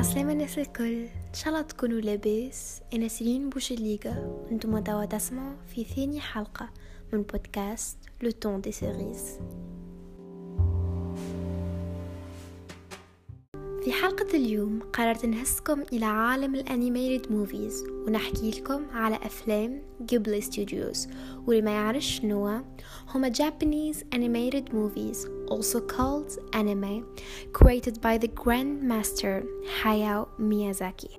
عسلامة الناس الكل، إن شاء الله تكونوا لاباس. أنا سيرين بوشليغا وانتم توا تسمعوا في ثاني حلقة من بودكاست لو طون دي سيريز. في حلقة اليوم قررت نهزكم إلى عالم الأنيميتد موفيز ونحكي لكم على أفلام غيبلي ستوديوز. واللي ما يعرفش شنو هما Japanese animated movies, also called anime, created by the Grandmaster Hayao Miyazaki.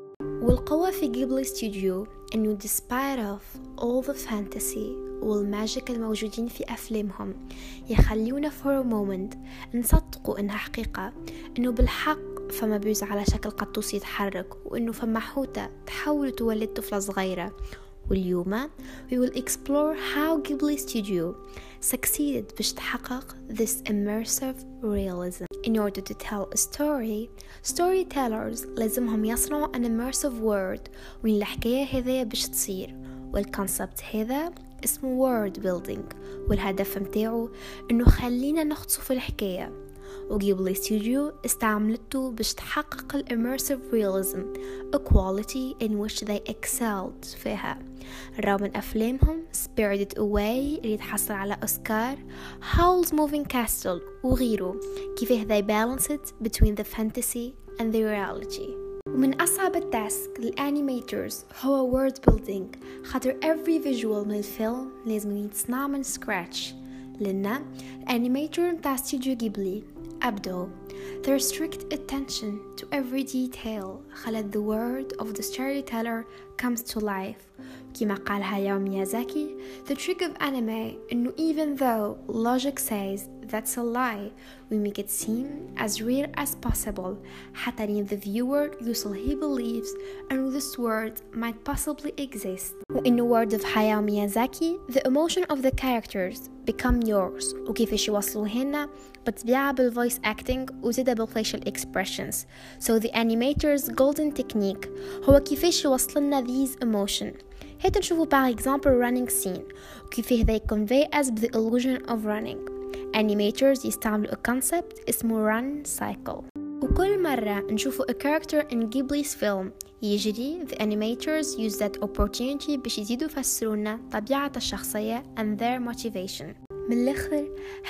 والقوة في غيبلي ستوديو إنه despite of all the fantasy والماجيك الموجودين في أفلامهم يخليونا for a moment نصدقوا إنها حقيقة، إنه بالحق فما بيوز على شكل قطوس يتحرك، وإنه فما حوتة تحول تولد طفلة صغيرة. واليوم we will explore how Ghibli Studio succeeded باش تحقق this immersive realism. In order to tell a story, storytellers لازمهم يصنعوا an immersive world وين الحكاية هذا باش تصير، والكونسبت هذا اسمه world building، والهدف متاعه انه خلينا نغطسوا في الحكاية. وغيبلي ستوديو استعملته باش تحقق الاميرسيف realism, a quality in which they excelled فيها. راو من أفلامهم Spirited Away اللي تحصل على أوسكار، Howl's Moving Castle وغيره، كيفاه they balance it between the fantasy and the reality. ومن أصعب التاسك للأنيميترز هو world building، خاطر every visual من الفيلم لازم يتصنع من scratch. لأن الأنيميتر متاع استوديو غيبلي أبدو their strict attention to every detail خلت the word of the storyteller comes to life. كما قال هاياو ميازاكي, the trick of anime إنه even though logic says that's a lie, we make it seem as real as possible حتى لين the viewer يوصل he believes and this word might possibly exist. وإنه word of هاياو ميازاكي, the emotion of the characters become yours. وكيفاش يوصلوا هنا بطبيعة بالvoice acting وزيدا بالfacial expressions. So the animator's golden technique هو كيفاش يوصلنا these emotion. هيدا نشوفوا par exemple running scene وكيفاه they convey us the illusion of running. Animators يستعملوا a concept اسمه run cycle. وكل مرة نشوفوا a character in Ghibli's film يجري, the animators use that opportunity باش يزيدوا يفسرونا طبيعة الشخصية and their motivation. من الآخر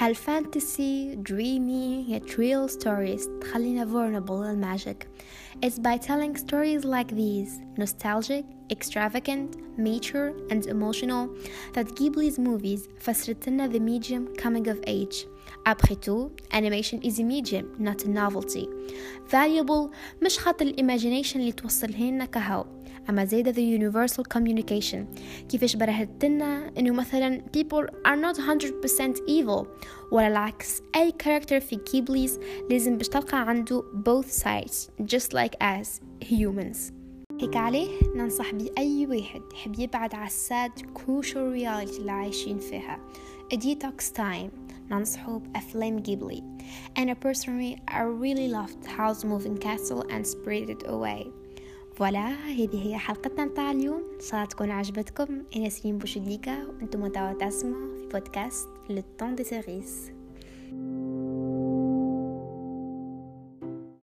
هالفانتسي dreamy yet real stories تخلينا vulnerable للماجيك. It's by telling stories like these, nostalgic, extravagant, mature and emotional, that Ghibli's movies فسرت لنا the medium coming of age. Après tout, animation is a medium, not a novelty. Valuable مش خاطر imagination اللي توصلهن كهو، أما زيادة the universal communication. كيفاش برهتنا إنه مثلا people are not 100% evil، ولا العكس أي character في Ghibli's لازم باش تلقى عنده both sides just like us humans. هيك عليه ننصح بأي واحد يحب يبعد على الساد crucial reality اللي عايشين فيها a detox time ننصحه بأفلام غيبلي. And personally I really loved Howl's Moving Castle and Spirited Away. فوالا هذه هي حلقتنا متاع اليوم، إن شاء الله تكون عجبتكم. أنا سيرين بوشليغا وأنتم توا تسمعوا في بودكاست لو طون دي سيريز.